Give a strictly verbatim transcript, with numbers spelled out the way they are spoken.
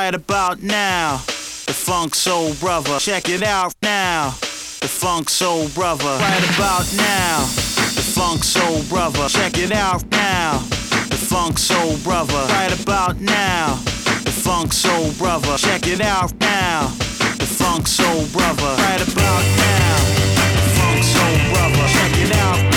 right about now. The Funk Soul Brother, check it out now. The Funk Soul Brother, right about now. The Funk Soul Brother, check it out now. The Funk Soul Brother, right about now. The Funk Soul Brother, check it out now. The Funk Soul Brother, right about now. The Funk Soul Brother, check it out.